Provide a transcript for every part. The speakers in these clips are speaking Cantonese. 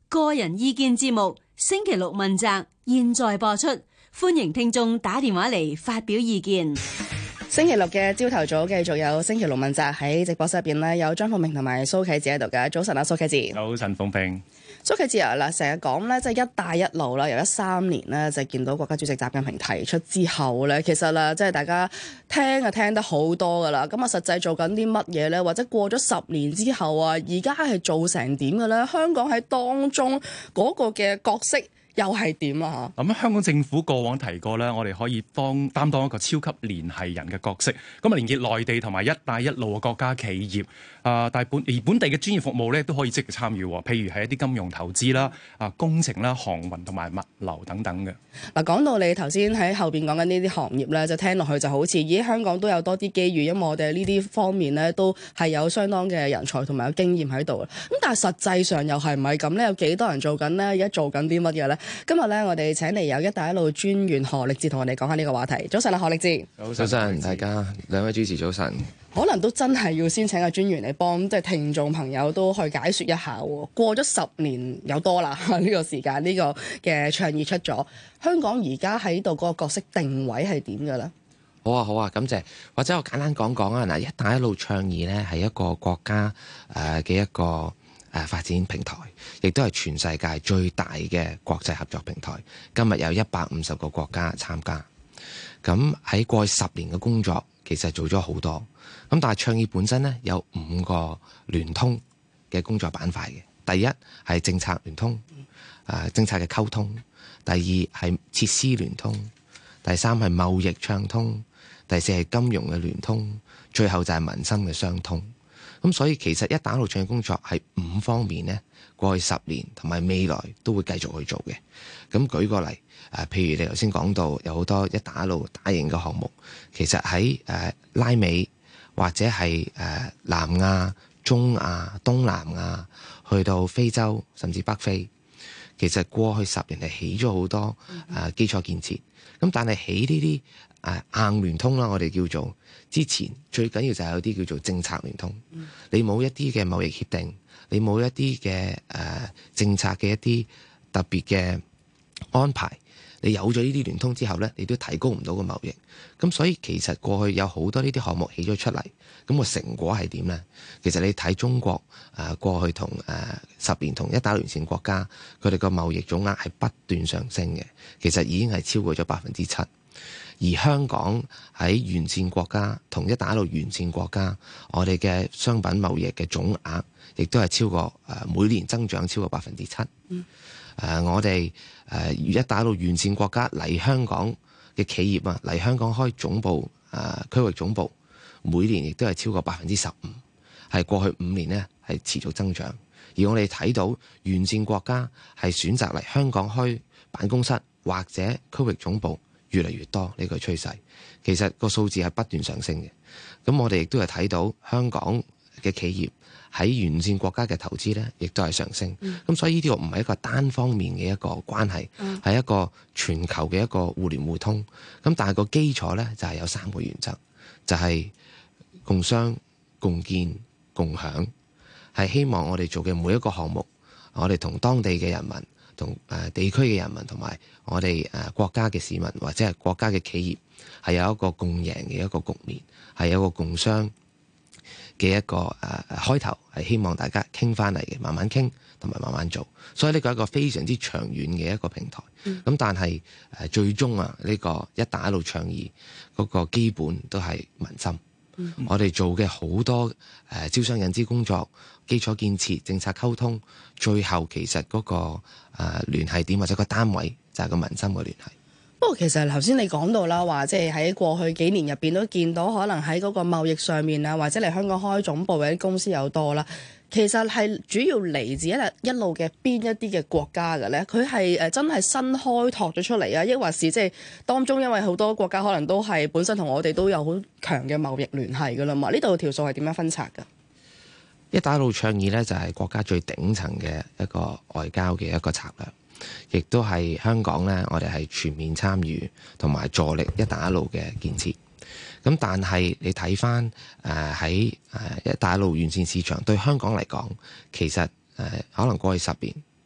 個人意見節目星期六問責，現在播出，歡迎聽眾打電話嚟發表意見。 星期六嘅朝頭早繼續有星期六問責，喺直播室入邊呢，有張鳳平同埋蘇啟智喺度嘅。早晨啊，蘇啟智。 早晨，鳳平。 蘇啟智啊，嗱，成日講咧，即係一帶一路啦，由13年咧就見到國家主席習近平提出之後咧，其實啦，即係大家聽得好多噶啦。咁啊，實際做緊啲乜嘢咧？或者過咗10年之後啊，而家係做成點嘅咧？香港喺當中嗰個嘅角色又係點啊？ 咁香港政府過往提過咧，我哋可以擔當一個超級聯繫人嘅角色，咁啊連結內地同埋一帶一路嘅國家企業。但係本地嘅專業服務咧都可以積極參與，譬如係一啲金融投資啦、工程啦、航運同埋物流等等嘅。 嗱，講到你頭先喺後邊講緊呢啲行業咧，就聽落去就好似，咦，香港都有多啲機遇，因為我哋呢啲方面咧都係有相當嘅人才同埋有經驗喺度。咁但係實際上又係唔係咁咧？有幾多人做緊咧？而家做緊啲乜嘢咧？今日咧，我哋請嚟有一帶一路專員何力智同我哋講下呢個話題。早晨啊，何力智。 早晨，大家兩位主持早晨。 可能都真係要先請個專員嚟幫，即係聽眾朋友都去解説一下喎。過咗10年有多啦，呢個時間呢個嘅倡議出咗，香港而家喺度嗰個角色定位係點嘅咧？ 好啊，感謝。或者我簡單講講啊，嗱，一帶一路倡議咧係一個國家嘅一個發展平台，亦都係全世界最大嘅國際合作平台。今日有150個國家參加。咁喺過去10年嘅工作，其實做咗好多。咁但係倡議本身咧有5個聯通嘅工作板塊嘅。第一係政策聯通，政策嘅溝通；第二係設施聯通；第三係貿易暢通；第四係金融嘅聯通；最後就係民生嘅相通。咁所以其實一帶一路倡議工作係5方面咧，過去10年同埋未來都會繼續去做嘅。咁舉個例，譬如你頭先講到有好多一帶一路大型嘅項目，其實喺拉美或者係南亞、中亞、東南亞，去到非洲甚至北非，其實過去10年係起咗好多基礎建設。咁但係起呢啲硬聯通啦，我哋叫做之前最緊要就係有啲叫做政策聯通。你冇一啲嘅貿易協定，你冇一啲嘅政策嘅一啲特別嘅安排，你有咗呢啲聯通之後呢，你都提高唔到個貿易。咁所以其實過去有好多呢啲項目起咗出嚟，咁個成果係點呢？其實你睇中國過去同10年同一帶一路沿線國家，佢哋個貿易總額係不斷上升嘅，其實已經係超過咗7%。而香港喺沿線國家同一帶一路沿線國家，我哋嘅商品貿易嘅總額亦都係超過每年增長超過7%。我哋一帶一路沿線國家嚟香港嘅企業啊，嚟香港開總部區域總部，每年亦都係超過15%，係過去5年呢係持續增長。而我哋睇到沿線國家係選擇嚟香港開辦公室或者區域總部越嚟越多，呢個趨勢其實個數字係不斷上升嘅。咁我哋亦都係睇到香港嘅企業喺沿線國家嘅投資呢，亦都係上升。咁所以呢啲唔係一個單方面嘅一個關係，係一個全球嘅一個互聯互通。咁但係個基礎呢，就係有3個原則，就係共商、共建、共享。係希望我哋做嘅每一個項目，我哋同當地嘅人民、同地區嘅人民，同埋我哋國家嘅市民或者係國家嘅企業，係有一個共贏嘅一個局面，係有一個共商嘅一個開頭，係希望大家傾翻嚟嘅，慢慢傾同埋慢慢做。所以呢個係一個非常之長遠嘅一個平台。咁但係最終呢個一帶一路倡議嗰個基本都係民心。我哋做嘅好多招商引資工作、基礎建設、政策溝通，最後其實嗰個聯繫點或者個單位就係個民心嘅聯繫。 不過其實頭先你講到啦，話即係喺過去幾年入邊都見到，可能喺嗰個貿易上面啊，或者嚟香港開總部嘅啲公司有多啦。其實係主要嚟自一路嘅邊一啲嘅國家嘅咧？佢係真係新開拓咗出嚟啊，抑或是即係當中因為好多國家可能都係本身同我哋都有好強嘅貿易聯繫噶啦嘛？呢度條數係點樣分拆㗎？ 一帶一路倡議咧就係國家最頂層嘅一個外交嘅一個策略，亦都係香港咧，我哋係全面參與同埋助力一帶一路嘅建設。咁但係你睇翻喺一帶一路沿線市場對香港嚟講，其實可能過去10年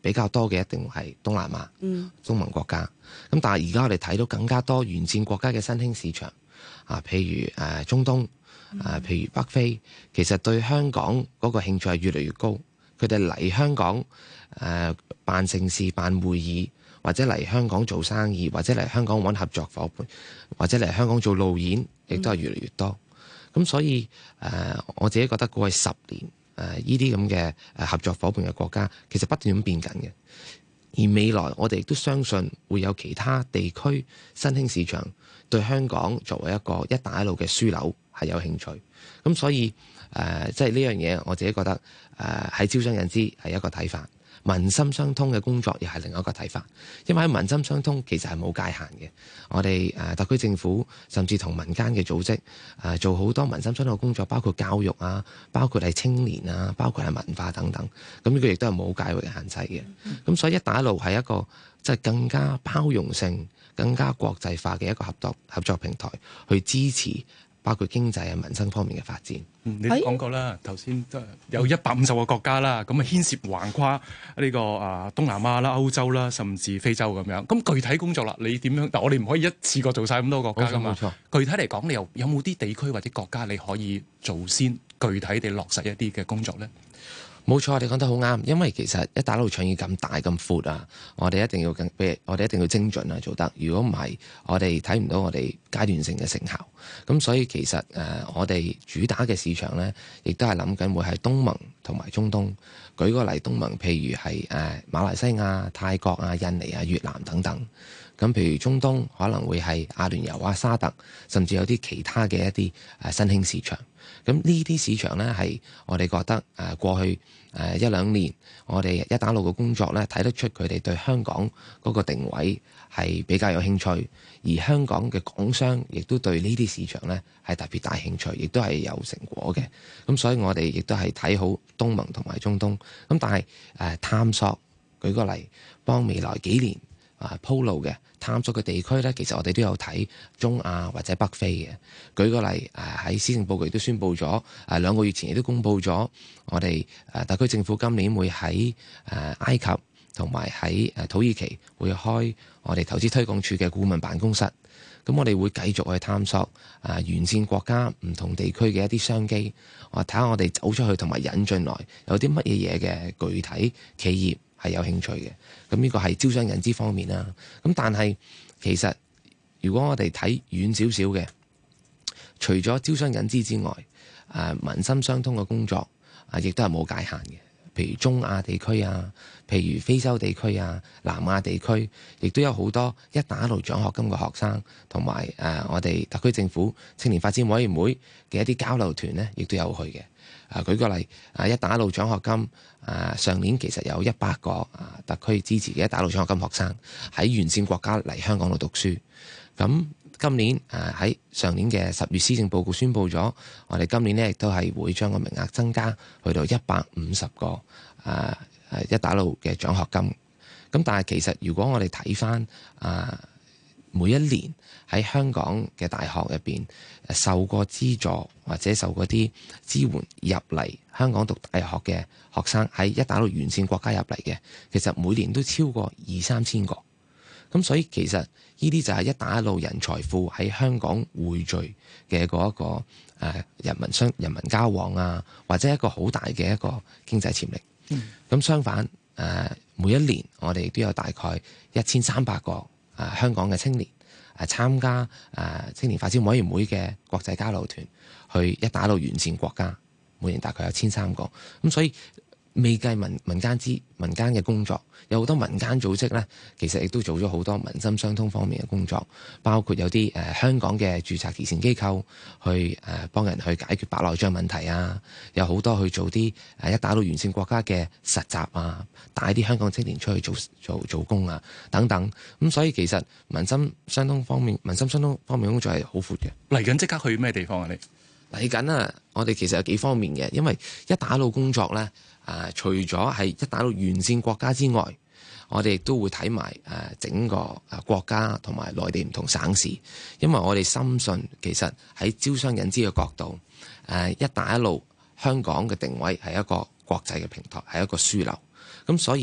比較多嘅一定係東南亞、東盟國家。咁但係而家我哋睇到更加多沿線國家嘅新興市場譬如中東譬如北非，其實對香港嗰個興趣係越嚟越高。佢哋嚟香港辦盛事、辦會議，或者嚟香港做生意，或者嚟香港揾合作伙伴，或者嚟香港做路演，亦都係越嚟越多。咁所以我自己覺得過去10年呢啲咁嘅合作伙伴嘅國家，其實不斷咁變緊嘅。而未來我哋亦都相信會有其他地區新興市場對香港作為一個一帶一路嘅樞紐係有興趣。咁所以即係呢樣嘢，我自己覺得喺招商引資係一個睇法。民心相通嘅工作又係另一個睇法，因為喺民心相通其實係冇界限嘅。我哋特區政府甚至同民間嘅組織做好多民心相通嘅工作，包括教育包括係青年包括係文化等等。咁呢個亦都係冇界域嘅限制嘅。咁所以一帶一路係一個即係更加包容性、更加國際化嘅一個合作平台，去支持包括經濟民生方面嘅發展。 你都講過啦，頭先有150個國家啦，咁牽涉橫跨呢個東南亞啦、歐洲啦，甚至非洲咁樣。咁具體工作啦，你點樣？但我哋唔可以一次過做晒咁多國家㗎嘛。冇錯。具體嚟講，你有冇啲地區或者國家你可以做先，具體地落實一啲嘅工作咧？ 冇錯，你講得好啱，因為其實一帶一路倡議咁大咁闊我哋一定要精準做得。如果唔係，我哋睇唔到我哋階段性嘅成效。咁所以其實我哋主打嘅市場呢，亦都係諗緊會係東盟同埋中東。舉個例，東盟譬如係馬來西亞、泰國印尼越南等等。咁譬如中東可能會係阿聯酋沙特，甚至有啲其他嘅一啲新興市場。咁呢啲市場呢，係我哋覺得過去1-2年，我哋一帶一路嘅工作呢，睇得出佢哋對香港嗰個定位係比較有興趣，而香港嘅港商亦都對呢啲市場呢係特別大興趣，亦都係有成果嘅。咁所以我哋亦都係睇好東盟同埋中東。咁但係探索，舉個例，幫未來幾年鋪路嘅探索嘅地區呢，其實我哋都有睇中亞或者北非嘅。舉個例，喺施政報告亦都宣布咗，2個月前亦都公布咗，我哋特區政府今年會喺埃及同埋喺土耳其會開我哋投資推廣署嘅顧問辦公室。咁我哋會繼續去探索沿線國家唔同地區嘅一啲商機，睇下我哋走出去同埋引進來有啲乜嘢嘢嘅具體企業係有興趣嘅。咁呢個係招商引資方面啦。咁但係其實如果我哋睇遠少少嘅，除咗招商引資之外，民心相通嘅工作亦都係冇界限嘅。譬如中亞地區譬如非洲地區南亞地區，亦都有好多一帶一路獎學金嘅學生，同埋我哋特區政府青年發展委員會嘅一啲交流團呢，亦都有去嘅。舉個例，一帶一路獎學金上年其實有100個特區支持嘅一帶一路獎學金學生喺沿線國家嚟香港度讀書。咁今年喺上年嘅10月施政報告宣布咗，我哋今年呢亦都係會將個名額增加去到150個一帶一路嘅獎學金。咁但係其實如果我哋睇翻每一年喺香港嘅大學入邊受過資助或者受過啲支援入嚟香港讀大學嘅學生，喺一帶一路沿線國家入嚟嘅，其實每年都超過2-3千個。咁所以其實呢啲就係一帶一路人才庫喺香港匯聚嘅嗰一個人民交往或者一個好大嘅一個經濟潛力。咁相反每一年我哋都有大概1300個香港嘅青年參加青年發展委員會嘅國際交流團去一帶一路沿線國家，每年大概有1300個。咁所以未計民間嘅工作，有好多民間組織呢，其實亦都做咗好多民心相通方面嘅工作，包括有啲香港嘅註冊慈善機構去幫人去解決白內障問題有好多去做啲一帶一路沿線國家嘅實習帶啲香港青年出去做工等等。咁所以其實民心相通方面工作係好闊嘅。 嚟緊即刻去咩地方你嚟緊我哋其實有幾方面嘅，因為一帶一路工作呢。除咗係一帶一路沿線國家之外，我哋亦都會睇埋整個國家同埋內地唔同省市，因為我哋深信其實喺招商引資嘅角度，一帶一路香港嘅定位係一個國際嘅平台，係一個樞紐。咁所以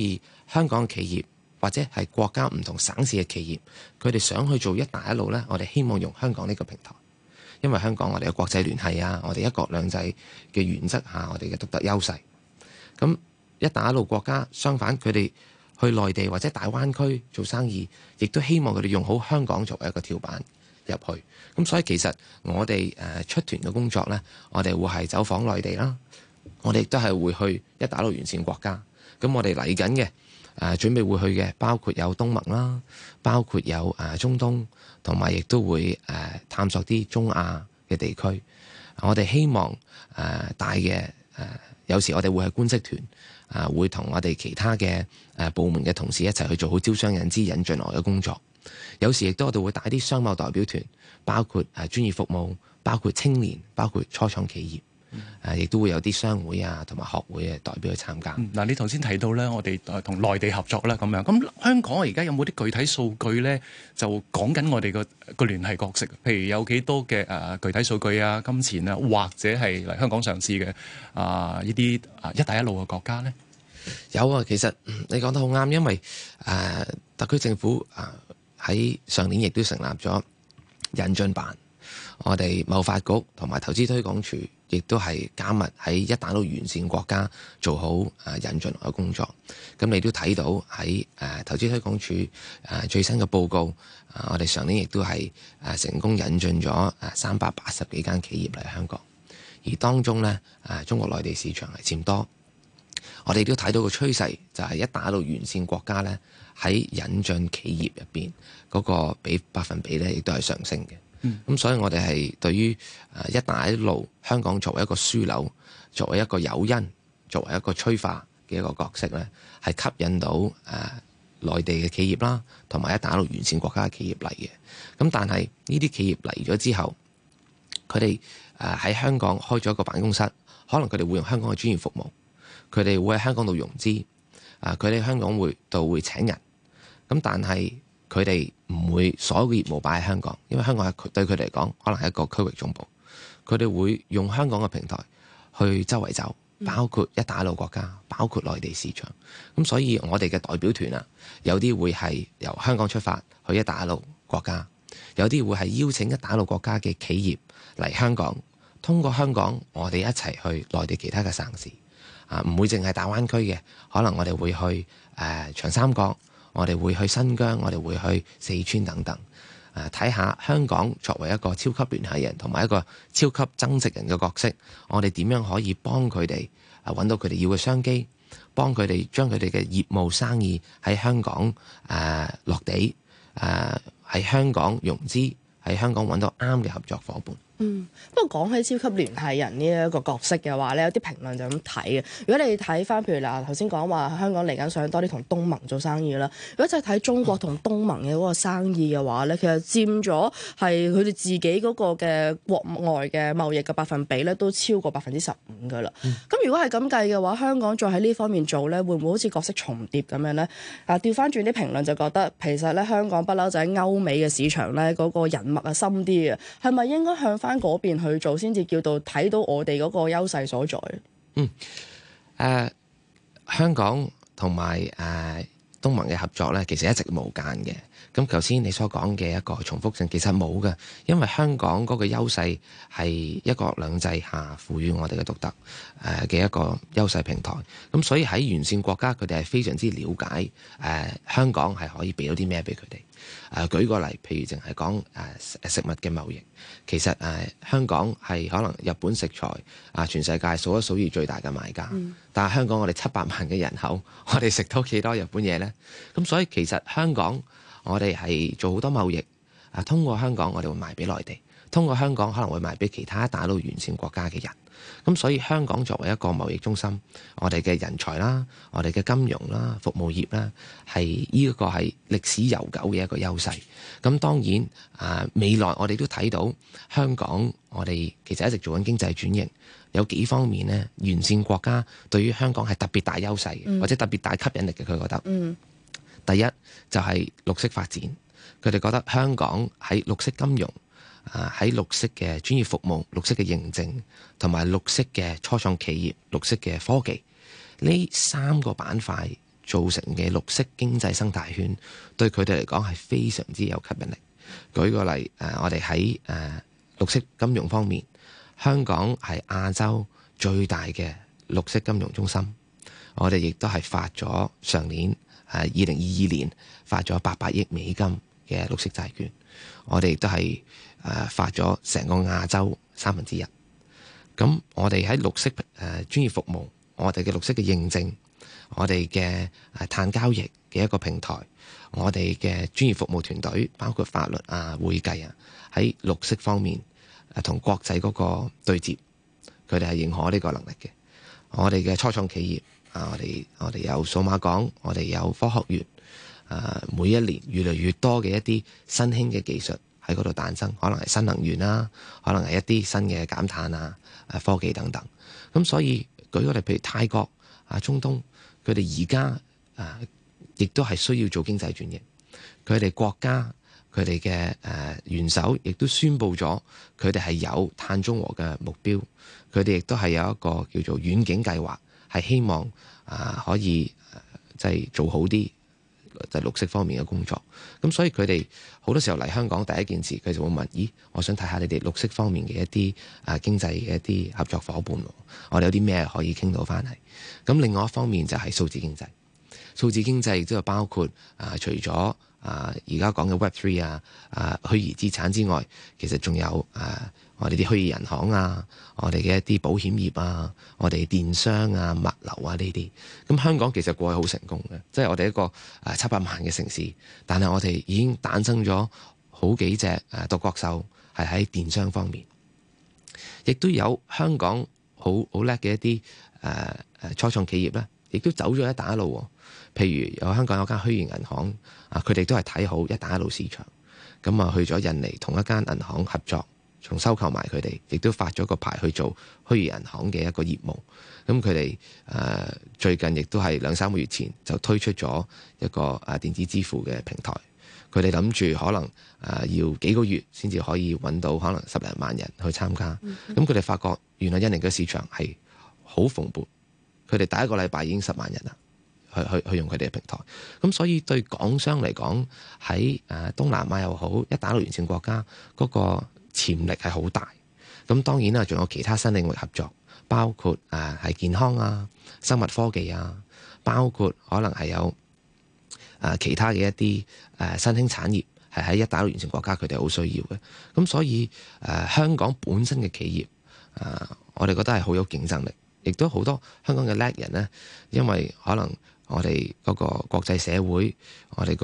香港企業或者係國家唔同省市嘅企業，佢哋想去做一帶一路呢，我哋希望用香港呢個平台，因為香港我哋嘅國際聯繫啊，我哋一國兩制嘅原則下，我哋嘅獨特優勢。咁一帶一路國家相反，佢哋去內地或者大灣區做生意，亦都希望佢哋用好香港作為一個跳板入去。咁所以其實我哋出團嘅工作呢，我哋會係走訪內地啦，我哋亦都係會去一帶一路沿線國家。咁我哋嚟緊嘅準備會去嘅，包括有東盟啦，包括有中東，同埋亦都會探索啲中亞嘅地區。我哋希望大嘅有時我哋會係官式團會同我哋其他嘅部門嘅同事一齊去做好招商引資引進來嘅工作。有時亦都我哋會帶啲商貿代表團，包括專業服務，包括青年，包括初創企業，亦都會有啲商會啊同埋學會嘅代表去參加。 嗱，你頭先提到咧，我哋同內地合作啦咁樣。咁香港而家有冇啲具體數據咧？就講緊我哋個聯繫角色，譬如有幾多嘅具體數據啊、金錢啊，或者係嚟香港上市嘅呢啲一帶一路嘅國家咧？ 有啊，其實你講得好啱，因為特區政府喺上年亦都成立咗引進辦，我哋貿發局同埋投資推廣署亦都係加密喺一帶一路沿線國家做好引進來嘅工作。咁你都睇到喺投資推廣署最新嘅報告，我哋上年亦都係成功引進咗380幾間企業嚟香港，而當中呢，中國內地市場係佔多。我哋都睇到個趨勢，就係一帶一路沿線國家呢，喺引進企業入邊嗰個百分比呢，亦都係上升嘅。咁所以我哋係對於一帶一路香港作為一個樞紐，作為一個誘因，作為一個催化嘅一個角色呢，係吸引到內地嘅企業啦，同埋一帶一路沿線國家嘅企業嚟嘅。咁但係呢啲企業嚟咗之後，佢哋喺香港開咗一個辦公室，可能佢哋會用香港嘅專業服務。佢哋會喺香港度融資，佢哋香港度會請人，咁但係佢哋唔會所有嘅業務擺喺香港，因為香港係對佢哋嚟講可能係一個區域總部，佢哋會用香港嘅平台去周圍走，包括一帶一路國家，包括內地市場。咁所以我哋嘅代表團有啲會係由香港出發去一帶一路國家，有啲會係邀請一帶一路國家嘅企業嚟香港，通過香港我哋一齊去內地其他嘅省市。唔會淨係大灣區嘅，可能我哋會去長三角，我哋會去新疆，我哋會去四川等等，睇下香港作為一個超級聯繫人同埋一個超級增值人嘅角色，我哋點樣可以幫佢哋揾到佢哋要嘅商機，幫佢哋將佢哋嘅業務生意喺香港落地，喺香港融資，喺香港揾到啱嘅合作伙伴。 不過講起超級聯繫人呢一個角色嘅話咧，有啲評論就咁睇嘅。如果你睇翻譬如嗱頭先講話香港嚟緊想多啲同東盟做生意啦，如果就係睇中國同東盟嘅嗰個生意嘅話咧，其實佔咗係佢哋自己嗰個嘅國外嘅貿易嘅百分比咧，都超過15%㗎啦。咁如果係咁計嘅話，香港再喺呢方面做咧，會唔會好似角色重疊咁樣咧？調翻轉啲評論就覺得其實咧香港不嬲就喺歐美嘅市場咧嗰個人脈深啲嘅，係咪應該向翻嗰邊去做先至叫到睇到我哋嗰個優勢所在？ 香港同埋東盟嘅合作咧，其實一直無間嘅。咁頭先你所講嘅一個重複性其實冇嘅，因為香港嗰個優勢係一國兩制下賦予我哋嘅獨特嘅一個優勢平台。咁所以喺沿線國家，佢哋係非常之了解香港係可以俾到啲咩俾佢哋。舉個例，譬如淨係講食物嘅貿易，其實香港係可能日本食材全世界數一數二最大嘅買家，但係香港我哋700萬嘅人口，我哋食到幾多日本嘢呢？咁所以其實香港我哋係做好多貿易，通過香港我哋會賣俾內地，通過香港可能會賣俾其他一帶一路沿線國家嘅人。咁所以香港作為一個貿易中心，我哋嘅人才啦，我哋嘅金融啦、服務業啦，係呢一個係歷史悠久嘅一個優勢。咁當然未來我哋都睇到香港，我哋其實一直做緊經濟轉型，有幾方面呢，沿線國家對於香港係特別大優勢嘅，或者特別大吸引力嘅。佢覺得，第一就係綠色發展，佢哋覺得香港喺綠色金融、喺綠色嘅專業服務、綠色嘅認證同埋綠色嘅初創企業、綠色嘅科技呢3個板塊造成嘅綠色經濟生態圈，對佢哋嚟講係非常之有吸引力。舉個例，我哋喺綠色金融方面，香港係亞洲最大嘅綠色金融中心。我哋亦都係發咗上年2022年發咗800億美金嘅綠色債券。我哋亦都係發咗成個亞洲1/3。咁我哋喺綠色專業服務，我哋嘅綠色嘅認證，我哋嘅碳交易嘅一個平台，我哋嘅專業服務團隊，包括法律啊、會計啊，喺綠色方面同國際嗰個對接，佢哋係認可呢個能力嘅。我哋嘅初創企業我哋有數碼港，我哋有科學園，每一年越嚟越多嘅一啲新興嘅技術喺嗰度誕生，可能係新能源啦，可能係一啲新嘅減碳啊、科技等等。咁所以舉個例，譬如泰國中東，佢哋而家亦都係需要做經濟轉型。佢哋國家佢哋嘅元首亦都宣布咗，佢哋係有碳中和嘅目標。佢哋亦都係有一個叫做遠景計劃，係希望可以即係做好啲就綠色方面嘅工作。咁所以佢哋好多時候嚟香港，第一件事佢就會問：咦，我想睇下你哋綠色方面嘅一啲經濟嘅一啲合作伙伴，我哋有啲咩可以傾到翻嚟？咁另外一方面就係數字經濟。數字經濟亦都係包括除咗而家講嘅 Web3 虛擬資產之外，其實仲有我哋啲虛擬銀行我哋嘅一啲保險業我哋電商物流呢啲。咁香港其實過去好成功嘅，即係我哋一個700萬嘅城市，但係我哋已經誕生咗好幾隻獨角獸，係喺電商方面，亦都有香港好叻嘅一啲初創企業咧，亦都走咗一帶一路。譬如有香港有間虛擬銀行佢哋都係睇好一帶一路市場，咁去咗印尼同一間銀行合作，仲收購埋佢哋，亦都發咗個牌去做虛擬銀行嘅一個業務。咁佢哋最近亦都係2-3個月前就推出咗一個電子支付嘅平台。佢哋諗住可能要幾個月先至可以揾到可能10零萬人去參加。咁佢哋發覺原來印尼嘅市場係好蓬勃，佢哋第一個禮拜已經10萬人啦。去用佢哋嘅平台。咁所以對港商嚟講，喺東南亞又好，一帶一路沿線國家嗰個潛力係好大。咁當然啦，仲有其他新領域合作，包括係健康生物科技包括可能係有其他嘅一啲新興產業係喺一帶一路沿線國家佢哋好需要嘅。咁所以香港本身嘅企業我哋覺得係好有競爭力，亦都好多香港嘅叻人呢，因為可能我哋嗰個國際社會，我哋嗰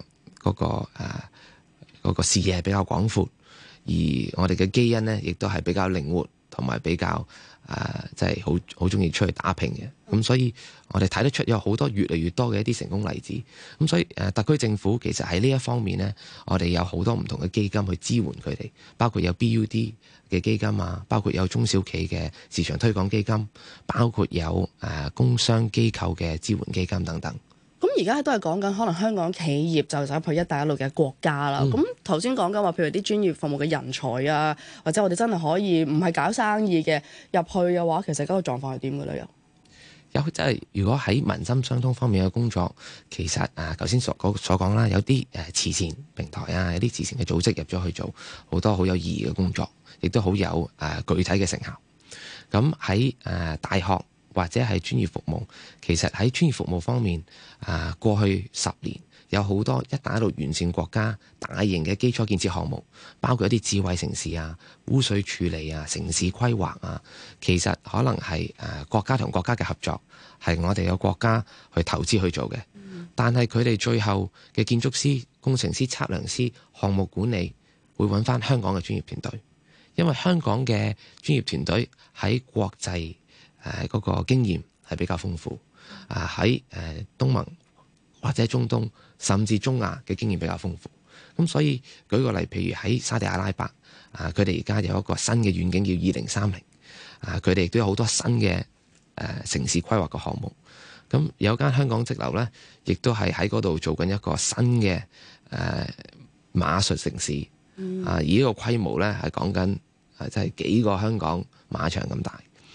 個視野係比較廣闊，而我哋嘅基因呢，亦都係比較靈活，同埋比較即係好中意出去打拼嘅。咁所以我哋睇得出有好多越嚟越多嘅一啲成功例子。咁所以特區政府其實喺呢一方面呢，我哋有好多唔同嘅基金去支援佢哋，包括有 BUD 嘅基金包括有中小企嘅市場推廣基金，包括有工商機構嘅支援基金等等。 咁而家都係講緊可能香港企業就走去一帶一路嘅國家啦。咁頭先講緊話，譬如啲專業服務嘅人才或者我哋真係可以唔係搞生意嘅入去嘅話，其實嗰個狀況係點嘅咧？ 有即係如果喺民心相通方面嘅工作，其實頭先所講啦，有啲慈善平台有啲慈善嘅組織入咗去做好多好有意義嘅工作，亦都好有具體嘅成效。咁喺大學或者係專業服務，其實喺專業服務方面過去10年有好多一帶一路沿線國家大型嘅基礎建設項目，包括一啲智慧城市污水處理城市規劃其實可能係國家同國家嘅合作，係我哋有國家去投資去做嘅。但係佢哋最後嘅建築師、工程師、測量師、項目管理會揾翻香港嘅專業團隊，因為香港嘅專業團隊喺國際嗰個經驗係比較豐富，喺東盟或者中東甚至中亞嘅經驗比較豐富。咁所以舉個例，譬如喺沙地阿拉伯佢哋而家有一個新嘅遠景叫2030，佢哋亦都有好多新嘅城市規劃嘅項目。咁有間香港則樓呢，亦都係喺嗰度做緊一個新嘅馬術城市，而呢個規模呢，係講緊即係幾個香港馬場咁大。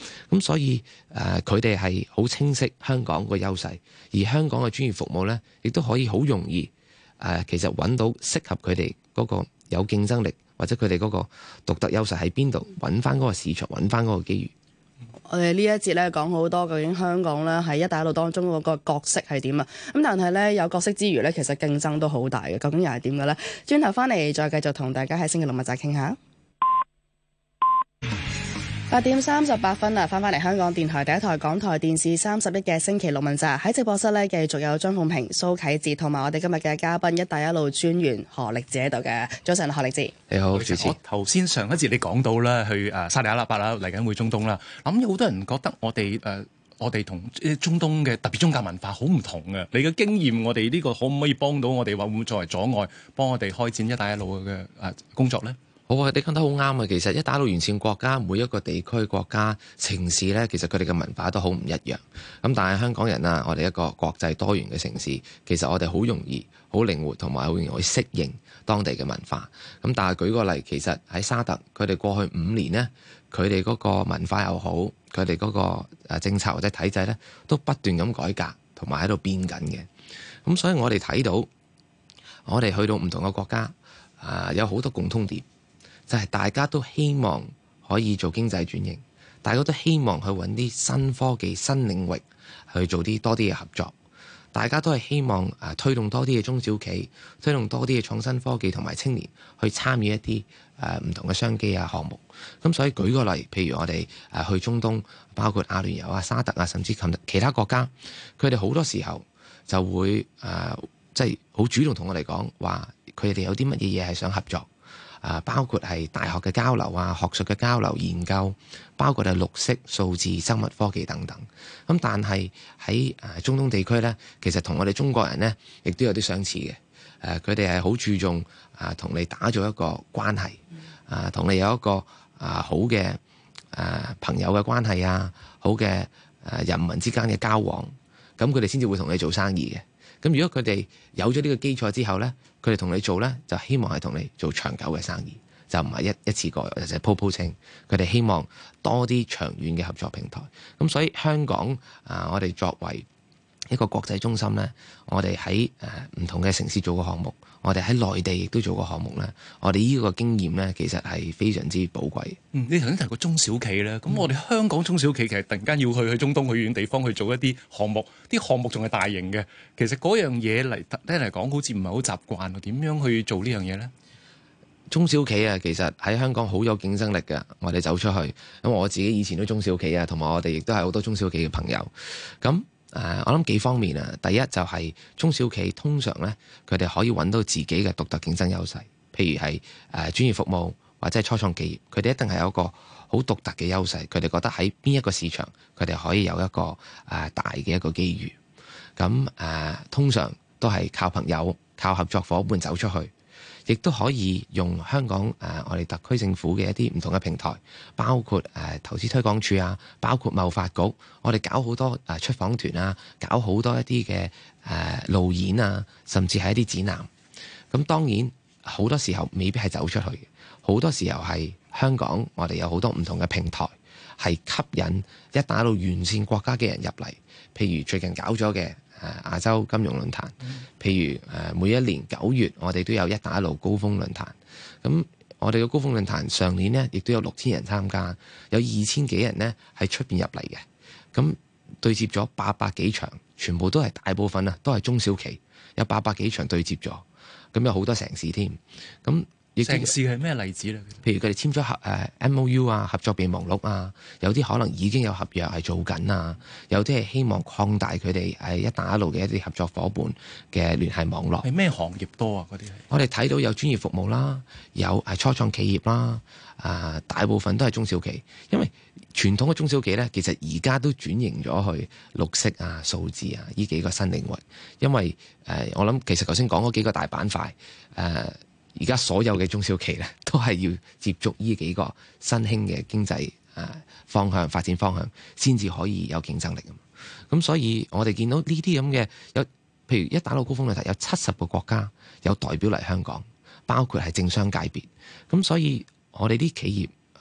咁所以佢哋係好清晰香港個優勢，而香港嘅專業服務呢，亦都可以好容易其實揾到適合佢哋嗰個有競爭力或者佢哋嗰個獨特優勢喺邊度，揾翻嗰個市場，揾翻嗰個機遇。 我哋呢一節咧講好多，究竟香港咧喺一帶一路當中嗰個角色係點啊？咁但係咧有角色之餘咧，其實競爭都好大嘅，究竟又係點嘅咧？轉頭翻嚟再繼續同大家喺星期六問責傾下。8:38啦，翻嚟香港電台第一台港台電視31嘅星期六問責，喺直播室咧繼續有張鳳平、蘇啟智同埋我哋今日嘅嘉賓一帶一路專員何力智喺度嘅。早晨，何力智。 你好，主持。 我頭先上一節你講到啦，去沙地阿拉伯啦，嚟緊會中東啦。咁有好多人覺得我哋同中東嘅特別宗教文化好唔同嘅。你嘅經驗，我哋呢個可唔可以幫到我哋，話會唔會作為阻礙，幫我哋開展一帶一路嘅工作咧？ 好啊，你講得好啱啊！其實一帶一路沿線國家每一個地區、國家、城市呢，其實佢哋嘅文化都好唔一樣。咁但係香港人啊，我哋一個國際多元嘅城市，其實我哋好容易、好靈活同埋好容易去適應當地嘅文化。咁但係舉個例，其實喺沙特，佢哋過去5年呢，佢哋嗰個文化又好，佢哋嗰個政策或者體制呢，都不斷咁改革同埋喺度變緊嘅。咁所以我哋睇到，我哋去到唔同嘅國家，有好多共通點。就係大家都希望可以做經濟轉型，大家都希望去揾啲新科技、新領域去做多啲嘅合作，大家都係希望推動多啲嘅中小企，推動多啲嘅創新科技同埋青年去參與一啲唔同嘅商機啊項目。咁所以舉個例，譬如我哋去中東，包括阿聯酋啊、沙特啊，甚至其他國家，佢哋好多時候就會即係好主動同我哋講話，佢哋有啲乜嘢嘢係想合作。包括係大學嘅交流啊、學術嘅交流研究，包括係綠色、數字、生物科技等等。咁但係喺中東地區呢，其實同我哋中國人呢亦都有啲相似嘅。佢哋係好注重同你打造一個關係，同你有一個好嘅朋友嘅關係啊，好嘅人民之間嘅交往，咁佢哋先至會同你做生意嘅。咁如果佢哋有咗呢個基礎之後呢，佢哋同你做呢，就希望係同你做長久嘅生意，就唔係一次過或者鋪鋪清。佢哋希望多啲長遠嘅合作平台。咁所以香港我哋作為一個國際中心呢，我哋喺唔同嘅城市做過項目，我哋喺內地亦都做過項目呢。我哋呢個經驗呢，其實係非常之寶貴。 你頭先提過中小企咧，咁我哋香港中小企其實突然間要去中東去遠地方去做一啲項目，啲項目仲係大型嘅，其實嗰樣嘢嚟講，好似唔係好習慣喎。點樣去做呢樣嘢呢？ 中小企啊，其實喺香港好有競爭力嘅。我哋走出去，咁我自己以前都中小企啊，同埋我哋亦都係好多中小企嘅朋友。咁我諗幾方面啊。第一就係中小企通常呢，佢哋可以揾到自己嘅獨特競爭優勢，譬如係專業服務或者係初創企業，佢哋一定係有一個好獨特嘅優勢。佢哋覺得喺邊一個市場，佢哋可以有一個大嘅一個機遇。咁通常都係靠朋友、靠合作伙伴走出去。亦都可以用香港我哋特區政府嘅一啲唔同嘅平台，包括投資推廣署啊，包括貿發局，我哋搞好多出訪團啊，搞好多一啲嘅路演啊，甚至係一啲展覽。咁當然好多時候未必係走出去嘅，好多時候係香港我哋有好多唔同嘅平台，係吸引一帶一路沿線國家嘅人入嚟。譬如最近搞咗嘅亞洲金融論壇，譬如每一年9月我哋都有一帶一路高峰論壇。咁我哋嘅高峰論壇上年呢，亦都有6000人參加，有2000幾人呢喺出邊入嚟嘅。咁對接咗800幾場，全部都係大部分啊，都係中小企，有800幾場對接咗。咁有好多城市添。咁城市係咩例子咧？ 譬如佢哋簽咗MOU 啊，合作備忘錄啊，有啲可能已經有合約係做緊啊，有啲係希望擴大佢哋一帶一路嘅一啲合作伙伴嘅聯繫網絡。 係咩行業多啊？嗰啲係我哋睇到有專業服務啦，有初創企業啦，大部分都係中小企，因為傳統嘅中小企呢，其實而家都轉型咗去綠色啊、數字啊呢幾個新領域。因為我諗其實頭先講嗰幾個大板塊而家所有嘅中小企咧，都係要接觸呢幾個新興嘅經濟方向、發展方向，先至可以有競爭力。咁所以我哋見到呢啲咁嘅有，譬如一帶一路高峰論壇有70個國家有代表嚟香港，包括係政商界別。咁所以我哋啲企業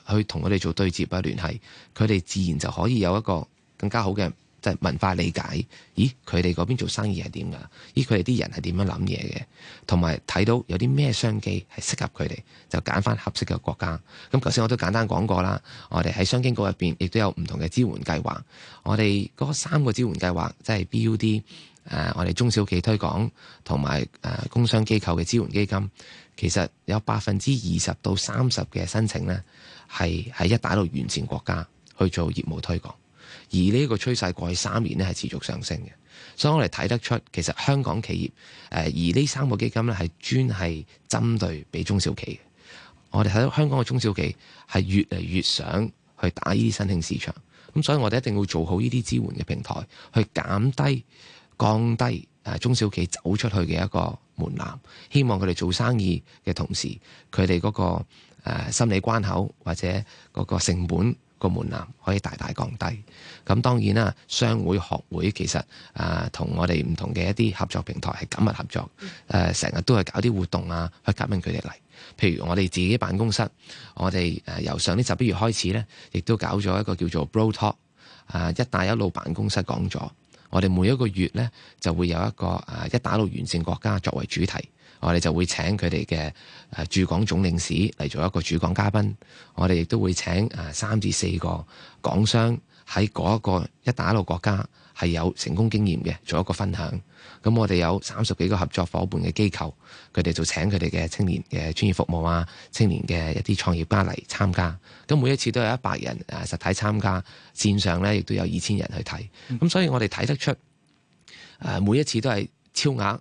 去同佢哋做對接啊聯繫，佢哋自然就可以有一個更加好嘅即係文化理解。咦，佢哋嗰邊做生意係點㗎？咦，佢哋啲人係點樣諗嘢嘅？同埋睇到有啲咩商機係適合佢哋，就揀翻合適嘅國家。咁頭先我都簡單講過啦，我哋喺商經局入邊亦都有唔同嘅支援計劃。我哋嗰3個支援計劃，即係 BUD。我哋中小企推廣同埋工商機構嘅支援基金，其實有20%到30%嘅申請呢，係喺一帶一路沿線國家去做業務推廣，而呢個趨勢過去3年呢係持續上升嘅，所以我哋睇得出其實香港企業而呢3個基金呢係專係針對俾中小企嘅。我哋睇到香港嘅中小企係越嚟越想去打呢啲新興市場，咁所以我哋一定要做好呢啲支援嘅平台，去降低中小企走出去嘅一個門檻，希望佢哋做生意嘅同時，佢哋嗰個心理關口或者嗰個成本個門檻可以大大降低。咁當然啦，商會學會其實同我哋唔同嘅一啲合作平台係緊密合作，成日都係搞啲活動啊，去吸引佢哋嚟。譬如我哋自己辦公室，我哋由上年11月開始呢，亦都搞咗一個叫做 Bro Talk 一帶一路辦公室講座。我哋每一個月呢，就會有一個一帶一路沿線國家作為主題，我哋就會請佢哋嘅駐港總領事嚟做一個主講嘉賓。我哋亦都會請3至4個港商喺嗰一個一帶一路國家係有成功經驗嘅，做一個分享。咁我哋有30幾個合作伙伴嘅機構，佢哋就請佢哋嘅青年嘅專業服務啊，青年嘅一啲創業家嚟參加。咁每一次都有100人實體參加，線上咧亦都有2000人去睇。咁所以我哋睇得出每一次都係超額，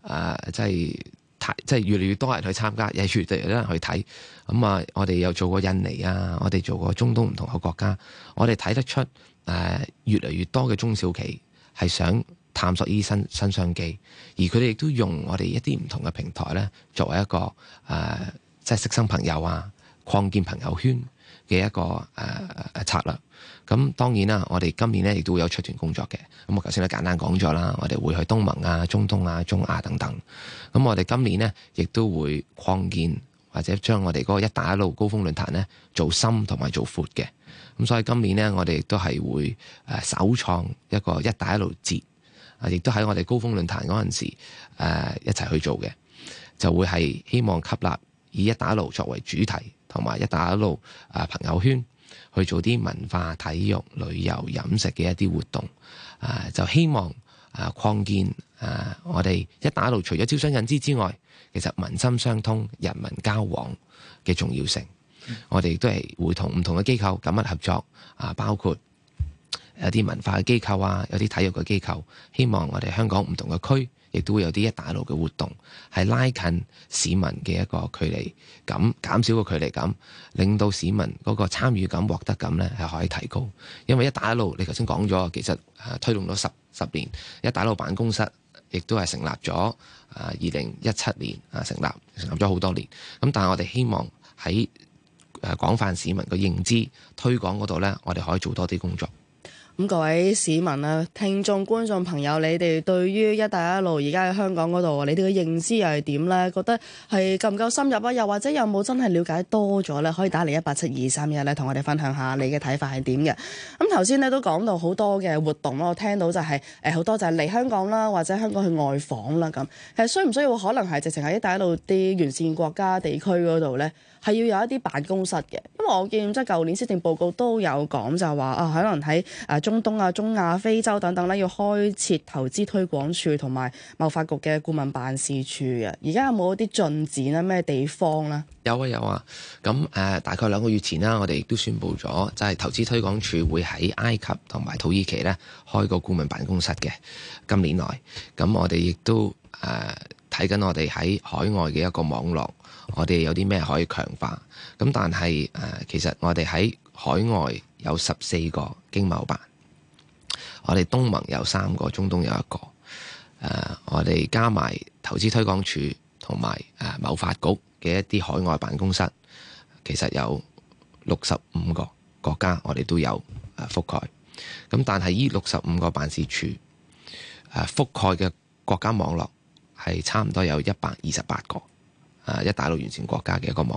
即係越嚟越多人去參加，亦越嚟越多人去睇。咁我哋又做過印尼啊，我哋做過中東唔同嘅國家，我哋睇得出越嚟越多嘅中小企係想探索呢啲新商機，而佢哋亦都用我哋一啲唔同嘅平台咧，作為一個即係識新朋友啊、擴建朋友圈嘅一個策略。咁當然啦，我哋今年咧亦都會有出團工作嘅。咁我頭先都簡單講咗啦，我哋會去東盟啊、中東啊、中亞等等。咁我哋今年呢，亦都會擴建或者將我哋嗰個一帶一路高峰論壇呢做深同埋做闊嘅。咁所以今年呢，我哋亦都係會首創一個一帶一路節。亦都喺我哋高峰論壇嗰陣時，一齊去做嘅，就會係希望吸納以一帶一路作為主題，同埋一帶一路朋友圈去做啲文化、體育、旅遊、飲食嘅一啲活動，就希望擴建我哋一帶一路除咗招商引資之外，其實民心相通、人民交往嘅重要性。我哋亦都係會同唔同嘅機構緊密合作，包括有啲文化嘅機構啊，有啲體育嘅機構，希望我哋香港唔同嘅區，亦都會有啲一帶一路嘅活動，係拉近市民嘅一個距離感，減少個距離感，令到市民嗰個參與感、獲得感呢係可以提高。因為一帶一路，你頭先講咗，其實推動咗十年，一帶一路辦公室亦都係成立咗2017年成立咗好多年。咁但係我哋希望喺廣泛市民嘅認知推廣嗰度呢，我哋可以做多啲工作。 咁各位市民啊、聽眾、觀眾朋友，你哋對於一帶一路而家喺香港嗰度，你哋嘅認知又係點呢？覺得係夠唔夠深入啊？又或者有冇真係了解多咗呢？可以打嚟18723咧，同我哋分享下你嘅睇法係點嘅。咁頭先咧都講到好多嘅活動咯，我聽到就係好多就係嚟香港啦，或者香港去外訪啦咁。其實需唔需要可能係直情喺一帶一路啲沿線國家地區嗰度呢？係要有一啲辦公室嘅，因為我見即係舊年施政報告都有講就話可能喺中東啊、中亞、非洲等等咧，要開設投資推廣處同埋貿發局嘅顧問辦事處嘅。而家有冇一啲進展咧？咩地方咧？ 有啊。咁大概2個月前啦，我哋亦都宣布咗，就係投資推廣處會喺埃及同埋土耳其咧開個顧問辦公室嘅。今年內，咁我哋亦都睇緊我哋喺海外嘅一個網絡。我哋有啲咩可以強化？咁但係其實我哋喺海外有14個經貿辦，我哋東盟有3個，中東有1個。我哋加埋投資推廣處同埋貿發局嘅一啲海外辦公室，其實有65個國家，我哋都有覆蓋。咁但係呢65個辦事處覆蓋嘅國家網絡係差唔多有128個。一帶一路沿線國家嘅一個網絡，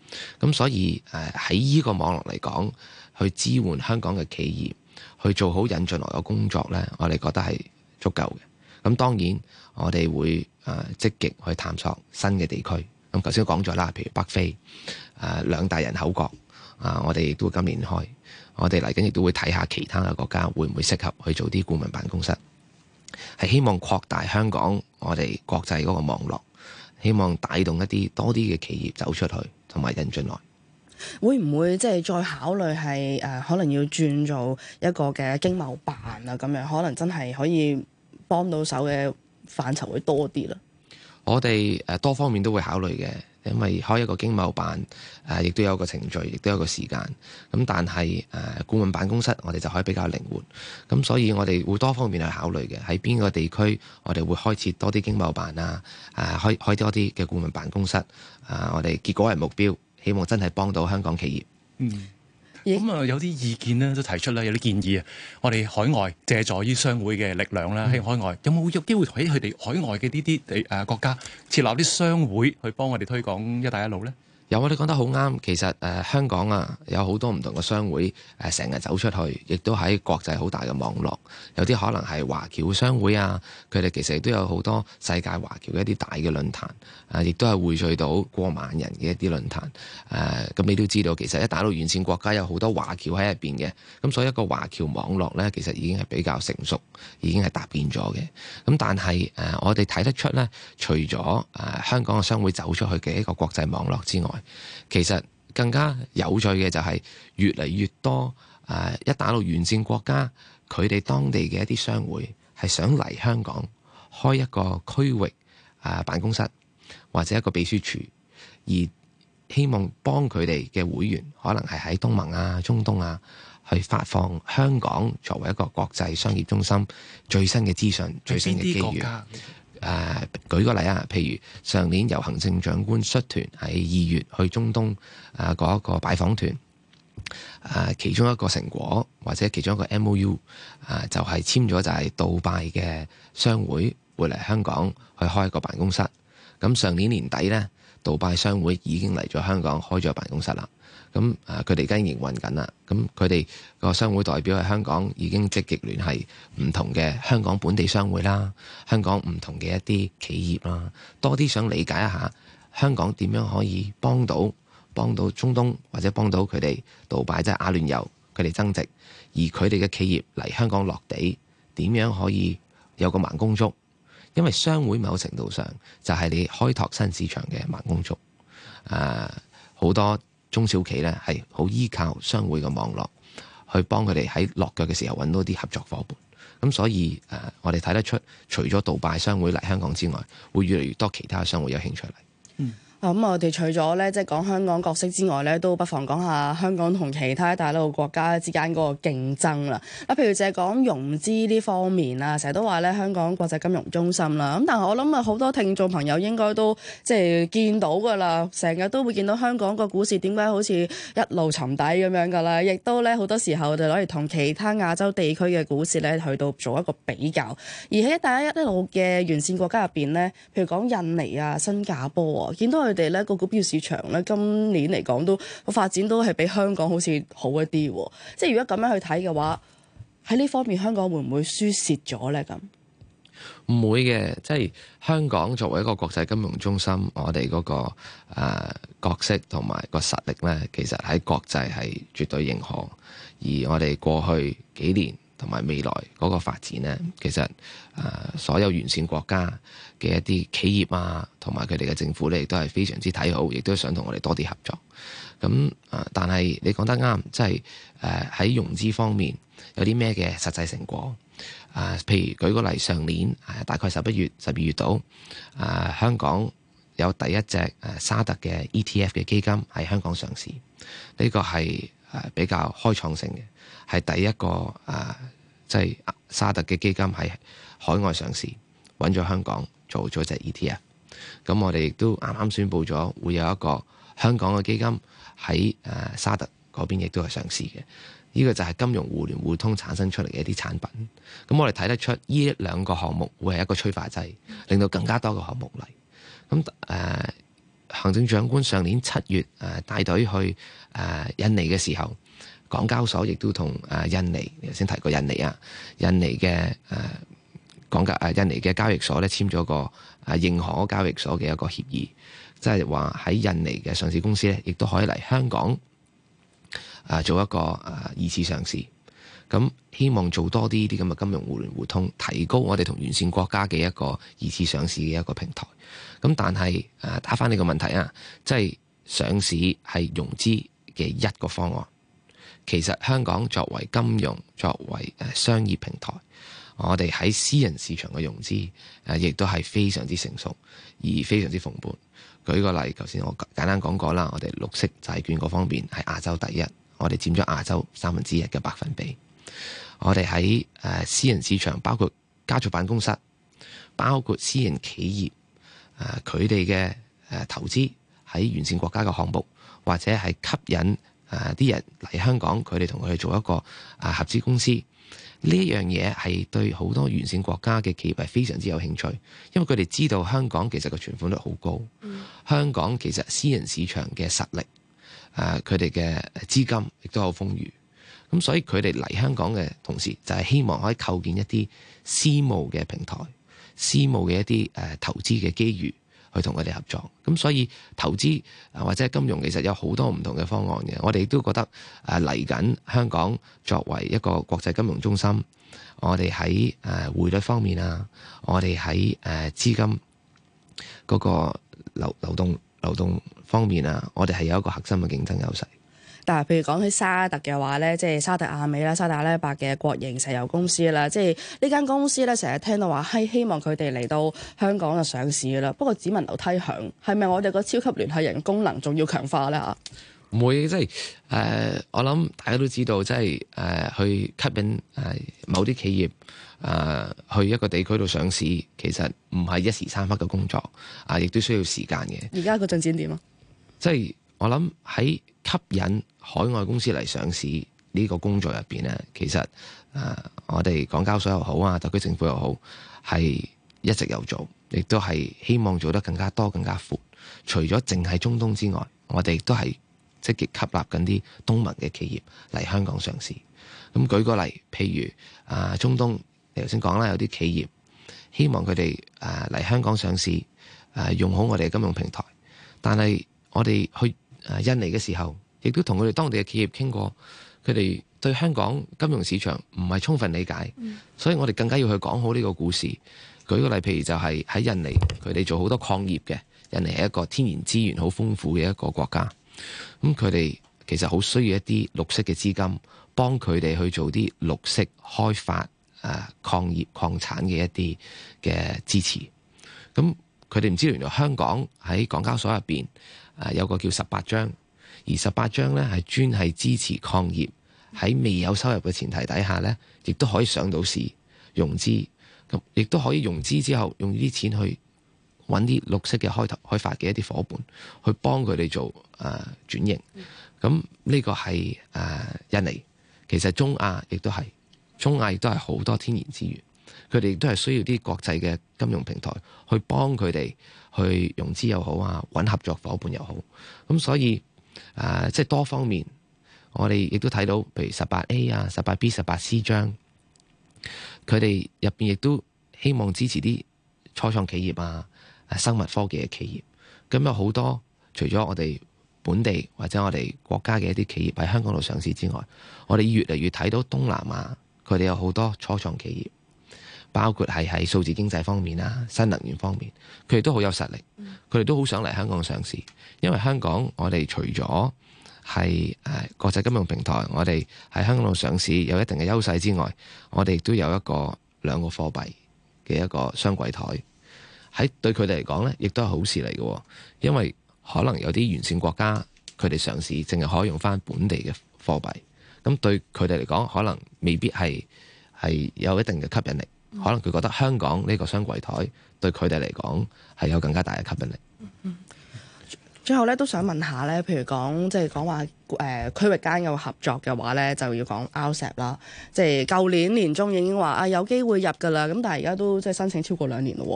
咁所以喺呢個網絡嚟講，去支援香港嘅企業去做好引進來嘅工作呢，我哋覺得係足夠嘅。咁當然我哋會積極去探索新嘅地區。咁頭先講咗啦，譬如北非兩大人口國我哋亦都今年開，我哋嚟緊亦都會睇下其他嘅國家會唔會適合去做啲顧問辦公室，係希望擴大香港我哋國際嗰個網絡，希望帶動一啲多啲嘅企業走出去同埋引進來。 會唔會即係再考慮係可能要轉做一個嘅經貿辦啊？咁樣可能真係可以幫到手嘅範疇會多啲啦。 我哋多方面都會考慮嘅，因為開一個經貿辦亦都有個程序，亦都有個時間。咁但係顧問辦公室我哋就可以比較靈活。咁所以我哋會多方面去考慮嘅，喺邊個地區我哋會開設多啲經貿辦開多啲嘅顧問辦公室我哋結果為目標，希望真係幫到香港企業。 咁有啲意見咧都提出啦，有啲建議啊。我哋海外借助於商會嘅力量啦，喺海外有冇機會喺佢哋海外嘅呢啲國家設立啲商會去幫我哋推廣一帶一路呢？ 有，你講得好啱。其實香港有好多唔同嘅商會成日走出去，亦都喺國際好大嘅網絡。有啲可能係華僑商會佢哋其實亦都有好多世界華僑嘅一啲大嘅論壇亦都係匯聚到過萬人嘅一啲論壇咁你都知道，其實一帶一路沿線國家有好多華僑喺入邊嘅，咁所以一個華僑網絡呢，其實已經係比較成熟，已經係搭建咗嘅。咁但係我哋睇得出呢，除咗香港嘅商會走出去嘅一個國際網絡之外，其實更加有趣嘅就係越嚟越多一帶一路沿線國家，佢哋當地嘅一啲商會係想嚟香港開一個區域辦公室或者一個秘書處，而希望幫佢哋嘅會員可能係喺東盟中東去發放香港作為一個國際商業中心最新嘅資訊、最新嘅機遇。舉個例譬如上年由行政長官率團喺2月去中東嗰一個拜訪團其中一個成果或者其中一個 MOU 就係簽咗，就係杜拜嘅商會會嚟香港去開一個辦公室。咁上年年底呢，杜拜商會已經嚟咗香港開咗辦公室啦。咁佢哋而家營運緊啦。咁佢哋個商會代表喺香港已經積極聯繫唔同嘅香港本地商會啦，香港唔同嘅一啲企業啦，多啲想理解一下香港點樣可以幫到中東或者幫到佢哋杜拜即係阿聯酋佢哋增值，而佢哋嘅企業嚟香港落地點樣可以有個盲公竹，因為商會某程度上就係你開拓新市場嘅盲公竹。好多中小企咧係好依靠商會嘅網絡去幫佢哋喺落腳嘅時候揾到啲合作伙伴。咁所以我哋睇得出，除咗杜拜商會嚟香港之外，會越嚟越多其他商會有興趣嚟。 咁我哋除咗咧即係講香港角色之外咧，都不妨講下香港同其他一帶一路國家之間嗰個競爭啦。譬如就係講融資呢方面啦，成日都話咧香港國際金融中心啦。咁但係我諗好多聽眾朋友應該都即係見到㗎啦，成日都會見到香港個股市點解好似一路沉底咁樣㗎啦，亦都咧好多時候就攞嚟同其他亞洲地區嘅股市咧去到做一個比較。而喺一帶一路嘅沿線國家入邊咧，譬如講印尼新加坡見到佢哋咧個股票市場咧今年嚟講都個發展都係比香港好似好一啲，即係如果咁樣去睇嘅話，喺呢方面香港會唔會輸蝕咗咧？咁唔會嘅，即係香港作為一個國際金融中心，我哋嗰個角色同埋個實力咧，其實喺國際係絕對認可。而我哋過去幾年同埋未來嗰個發展咧，其實所有沿線國家嘅一啲企業同埋佢哋嘅政府咧，亦都係非常之睇好，亦都想同我哋多啲合作。咁但係你講得啱，即係喺融資方面有啲咩嘅實際成果？譬如舉個例，上年大概11月、12月度，香港有第一隻沙特嘅 ETF 嘅基金喺香港上市，呢個係比較開創性嘅，係第一個即係沙特嘅基金喺海外上市，揾咗香港做咗隻 ETF。咁我哋亦都啱啱宣布咗會有一個香港嘅基金喺沙特嗰邊亦都係上市嘅。呢個就係金融互聯互通產生出嚟嘅一啲產品。咁我哋睇得出呢兩個項目會係一個催化劑，令到更加多嘅項目嚟。咁行政長官上年7月帶隊去印尼嘅時候，港交所亦都同印尼，你頭先提過印尼印尼嘅印尼嘅交易所咧簽咗個認可交易所嘅一個協議，即係話喺印尼嘅上市公司咧，亦都可以嚟香港做一個二次上市。咁希望做多啲咁嘅金融互聯互通，提高我哋同沿線國家嘅一個二次上市嘅一個平台。咁但係打返你個問題即係上市係融資嘅一個方案。其實香港作為金融、作為商業平台，我哋喺私人市場嘅融資亦都係非常之成熟，而非常之蓬勃。舉個例，頭先我簡單講過啦，我哋綠色債券嗰方面係亞洲第一，我哋佔咗亞洲1/3嘅百分比。我哋喺私人市場，包括家族辦公室，包括私人企業，佢哋嘅投資喺沿線國家嘅項目，或者係吸引啲人嚟香港，佢哋同佢哋做一個合資公司，呢一樣嘢係對好多沿線國家嘅企業係非常之有興趣，因為佢哋知道香港其實個存款率好高，香港其實私人市場嘅實力，佢哋嘅資金亦都好豐裕。咁所以佢哋嚟香港嘅同時，就係希望可以構建一啲私募嘅平台、私募嘅一啲投資嘅機遇，去同佢哋合作。咁所以投資或者金融其實有好多唔同嘅方案嘅。我哋都覺得嚟緊香港作為一個國際金融中心，我哋喺匯率方面我哋喺資金嗰個流動方面我哋係有一個核心嘅競爭優勢。 但係譬如講起沙特嘅話咧，即係沙特阿美啦、沙特阿拉伯嘅國營石油公司啦，即係呢間公司咧，成日聽到話係希望佢哋嚟到香港就上市㗎啦。不過只聞樓梯響，係咪我哋個超級聯繫人功能仲要強化咧嚇？ 唔會，即係我諗大家都知道，即係去吸引某啲企業去一個地區度上市，其實唔係一時三刻嘅工作，亦都需要時間嘅。 而家個進展點啊？ 即係我諗喺吸引海外公司嚟上市呢個工作入邊咧，其實我哋港交所又好特區政府又好，係一直有做，亦都係希望做得更加多、更加闊。除咗淨係中東之外，我哋亦都係積極吸納緊啲東盟嘅企業嚟香港上市。咁舉個例，譬如中東，你頭先講啦，有啲企業希望佢哋嚟香港上市，用好我哋嘅金融平台。但係我哋去印尼嘅時候，亦都同佢哋當地嘅企業傾過，佢哋對香港金融市場唔係充分理解，所以我哋更加要去講好呢個故事。舉個例，譬如就係喺印尼，佢哋做好多礦業嘅，印尼係一個天然資源好豐富嘅一個國家，咁佢哋其實好需要一啲綠色嘅資金，幫佢哋去做啲綠色開發礦業礦產嘅一啲嘅支持。咁佢哋唔知道原來香港喺港交所入邊有個叫18章，而18章呢係專係支持礦業喺未有收入嘅前提底下呢，亦都可以上到市融資，咁亦都可以融資之後用呢啲錢去揾啲綠色嘅開發嘅一啲夥伴，去幫佢哋做轉型。咁呢個係印尼，其實中亞亦都係，中亞亦都係好多天然資源，佢哋亦都係需要啲國際嘅金融平台去幫佢哋去融資又好揾合作夥伴又好。咁所以即係多方面，我哋亦都睇到，譬如18A、18B、18C 章，佢哋入邊亦都希望支持啲初創企業生物科技嘅企業。咁有好多除咗我哋本地或者我哋國家嘅一啲企業喺香港度上市之外，我哋越嚟越睇到東南亞佢哋有好多初創企業，包括係喺數字經濟方面新能源方面，佢哋都好有實力，佢哋都好想嚟香港上市。因為香港我哋除咗係國際金融平台，我哋喺香港度上市有一定嘅優勢之外，我哋亦都有兩個貨幣嘅一個雙櫃台，喺對佢哋嚟講呢，亦都係好事嚟嘅。因為可能有啲沿線國家佢哋上市淨係可以用翻本地嘅貨幣，咁對佢哋嚟講可能未必係有一定嘅吸引力。可能佢覺得香港呢個雙櫃台對佢哋嚟講係有更加大嘅吸引力。 最後咧都想問下咧，譬如講即係講話區域間嘅合作嘅話咧，就要講 RCEP 啦。即係舊年年中已經話有機會入㗎啦，咁但係而家都即係申請超過2年咯。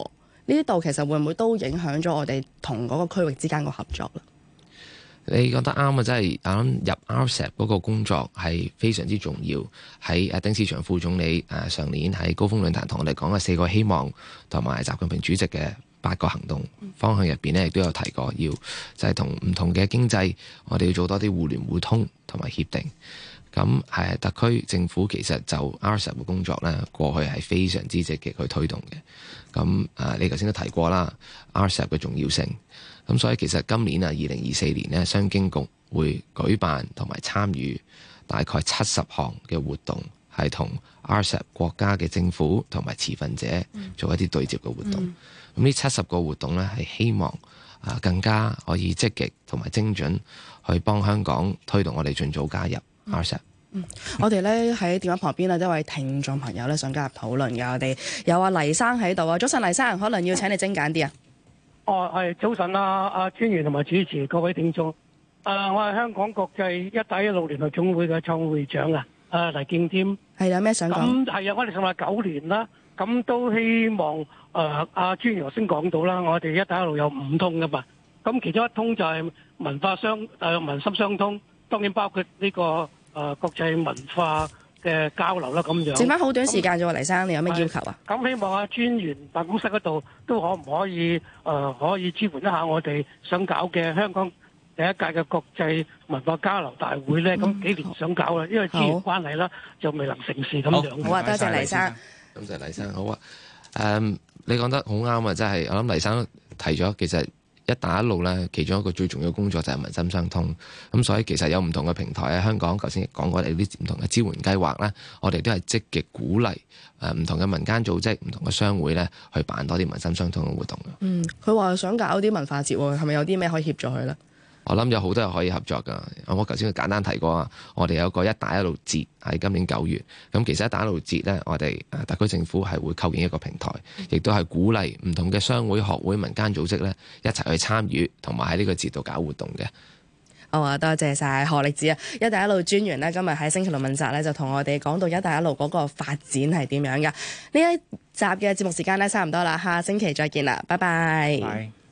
呢度其實會唔會都影響咗我哋同嗰個區域之間個合作咧？ 你講得啱啊！真係我諗入 RCEP 嗰個工作係非常之重要。喺丁薛祥副總理上年喺高峰論壇同我哋講嘅4個希望同埋習近平主席嘅8個行動方向入邊呢，亦都有提過要就係同唔同嘅經濟，我哋要做多啲互聯互通同埋協定。咁係特區政府其實就 RCEP 嘅工作呢，過去係非常之積極去推動嘅。咁你頭先都提過啦 RCEP 嘅重要性。咁所以其實今年2024年呢，商經局會舉辦同埋參與大概70項嘅活動，係同 RCEP 國家嘅政府同埋持份者做一啲對接嘅活動。咁呢70個活動呢，係希望更加可以積極同埋精準去幫香港推動我哋盡早加入 RCEP。 我哋咧喺電話旁邊一位聽眾朋友咧想加入討論嘅，我哋有阿黎生喺度啊。早晨，黎生，可能要請你精簡啲啊。 係早晨阿專員同埋主持各位聽眾。我係香港國際一帶一路聯合總會嘅創會長黎敬添。 係有咩想講？ 咁係啊，我哋成立9年啦，咁都希望阿專員頭先講到啦，我哋一帶一路有5通噶嘛，咁其中一通就係民心相通，當然包括呢個國際文化嘅交流啦，咁樣。剩翻好短時間啫喎，黎生，你有咩要求啊？ 咁希望專員辦公室嗰度都可唔可以可以支援一下我哋想搞嘅香港第一屆嘅國際文化交流大會咧？咁幾年想搞啦，因為資源關係啦，就未能成事咁樣。 好啊，多謝黎生。 多謝黎生，好啊。你講得好啱啊！真係，我諗黎生提咗，其實一帶一路咧，其中一個最重要嘅工作就係民心相通。咁所以其實有唔同嘅平台喺香港，頭先講過我哋啲唔同嘅支援計劃咧，我哋都係積極鼓勵唔同嘅民間組織、唔同嘅商會咧，去辦多啲民心相通嘅活動。 佢話想搞啲文化節喎，係咪有啲咩可以協助佢咧？ 我諗有好多人可以合作㗎。我頭先簡單提過啊，我哋有個一帶一路節喺今年9月。咁其實一帶一路節呢，我哋特區政府係會構建一個平台，亦都係鼓勵唔同嘅商會、學會、民間組織呢一齊去參與，同埋喺呢個節度搞活動嘅。 好啊，多謝晒何力智啊！一帶一路專員呢，今日喺星期六問責呢，就同我哋講到一帶一路嗰個發展係點樣㗎。呢一集嘅節目時間呢，差唔多啦，下星期再見啦，拜拜。